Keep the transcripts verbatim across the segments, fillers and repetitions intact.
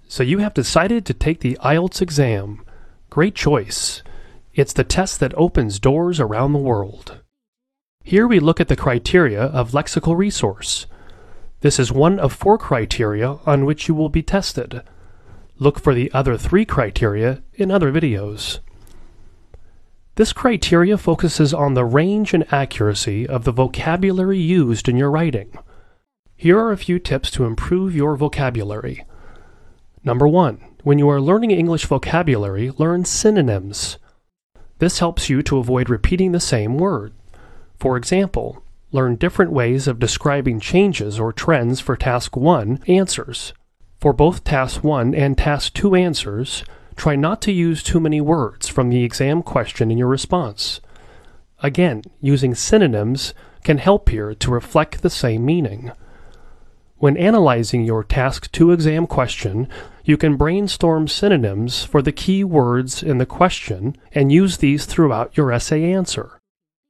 So you have decided to take the I E L T S exam. Great choice. It's the test that opens doors around the world. Here we look at the criteria of lexical resource. This is one of four criteria on which you will be tested. Look for the other three criteria in other videos. This criteria focuses on the range and accuracy of the vocabulary used in your writing. Here are a few tips to improve your vocabulary. Number one, when you are learning English vocabulary, learn synonyms. This helps you to avoid repeating the same word. For example, learn different ways of describing changes or trends for Task one answers. For both Task one and Task two answers, try not to use too many words from the exam question in your response. Again, using synonyms can help here to reflect the same meaning. When analyzing your Task two exam question, you can brainstorm synonyms for the key words in the question and use these throughout your essay answer.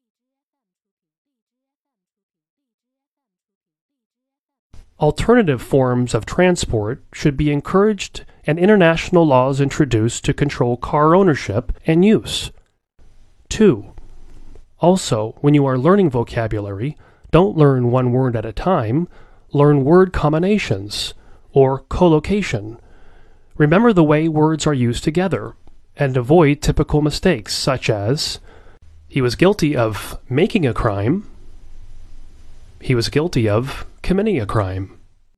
Alternative forms of transport should be encouraged and international laws introduced to control car ownership and use. two. Also, when you are learning vocabulary, don't learn one word at a time. Learn word combinations, or collocation. Remember the way words are used together, and avoid typical mistakes such as, he was guilty of making a crime, he was guilty of committing a crime.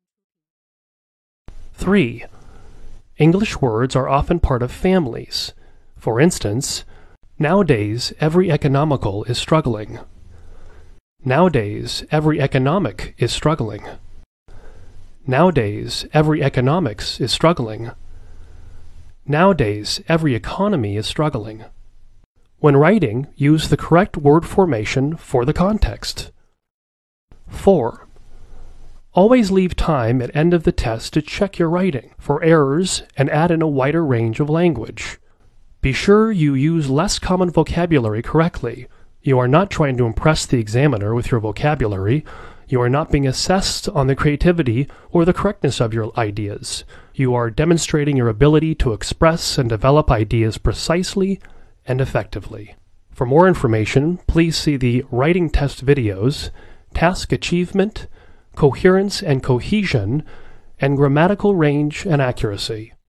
three. English words are often part of families. For instance, nowadays every economical is struggling. Nowadays, every economic is struggling. Nowadays, every economics is struggling. Nowadays, every economy is struggling. When writing, use the correct word formation for the context. four. Always leave time at end of the test to check your writing for errors and add in a wider range of language. Be sure you use less common vocabulary correctly. You are not trying to impress the examiner with your vocabulary. You are not being assessed on the creativity or the correctness of your ideas. You are demonstrating your ability to express and develop ideas precisely and effectively. For more information, please see the writing test videos, task achievement, coherence and cohesion, and grammatical range and accuracy.